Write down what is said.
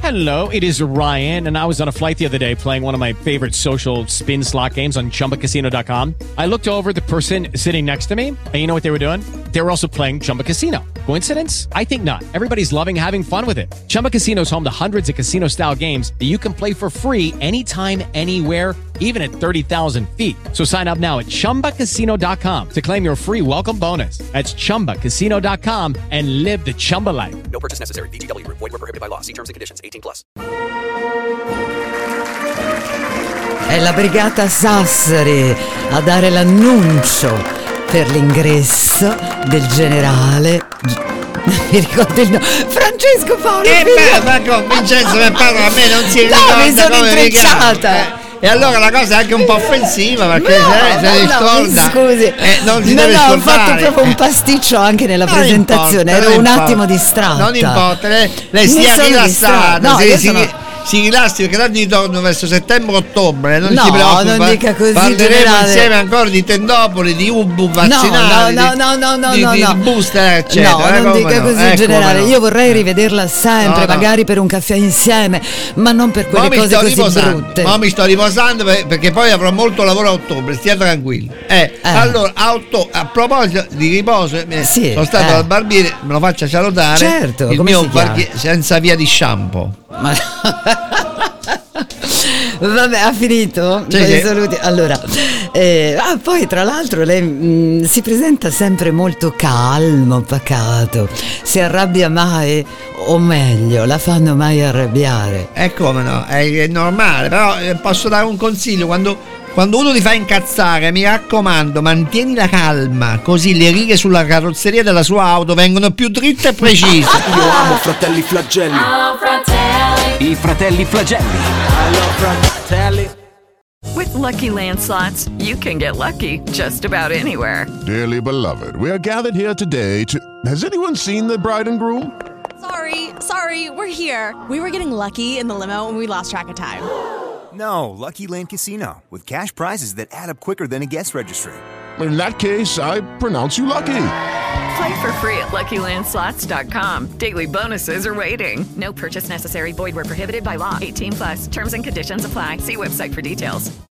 Hello, it is Ryan, and I was on a flight the other day playing one of my favorite social spin slot games on ChumbaCasino.com. I looked over at the person sitting next to me, and you know what they were doing? They were also playing Chumba Casino. Coincidence? I think not. Everybody's loving having fun with it. Chumba Casino is home to hundreds of casino-style games that you can play for free anytime, anywhere, even at 30,000 feet. So sign up now at ChumbaCasino.com to claim your free welcome bonus. That's ChumbaCasino.com and live the Chumba life. No purchase necessary. VGW. Void where prohibited by law. See terms and conditions. 18+. È la brigata Sassari a dare l'annuncio per l'ingresso del generale. Mi ricordo il nome. Francesco Paolo. Ma con Vincenzo che parla a me non si ricorda. No, mi sono come intrecciata. E allora la cosa è anche un po' offensiva perché se ricorda. Scusi. Non si deve ho scordare. fatto proprio un pasticcio anche nella presentazione. Ero un attimo distratta. Non importa, lei sia rilassata. Si rilassi perché tanto ritorno verso settembre-ottobre, non si preoccupa. Non dica così, parleremo generale. insieme ancora di tendopoli, di ubu vaccinali, di booster, eccetera. No, non dica così, generale. Io vorrei rivederla sempre, magari per un caffè insieme, ma non per quelle cose così brutte. Ma mi sto riposando perché poi avrò molto lavoro a ottobre, stia tranquillo. Allora, a proposito di riposo, sono stato dal barbiere, me lo faccia salutare. Certo, il come mio si chiama? barbiere senza via di shampoo. Vabbè, ha finito? Sì. Saluti. Allora, poi tra l'altro lei si presenta sempre molto calmo, pacato. Si arrabbia mai, o meglio, la fanno mai arrabbiare? Come no, è normale, però posso dare un consiglio: quando uno ti fa incazzare, mi raccomando, mantieni la calma, così le righe sulla carrozzeria della sua auto vengono più dritte e precise. Io amo Fratelli Flagelli. I Fratelli Flagelli. I love Fratelli. With Lucky Land Slots, you can get lucky just about anywhere. Dearly beloved, we are gathered here today to... Has anyone seen the bride and groom? Sorry, we're here. We were getting lucky in the limo and we lost track of time. No, Lucky Land Casino, with cash prizes that add up quicker than a guest registry. In that case, I pronounce you lucky. Play for free at LuckyLandSlots.com. Daily bonuses are waiting. No purchase necessary. Void where prohibited by law. 18+. Terms and conditions apply. See website for details.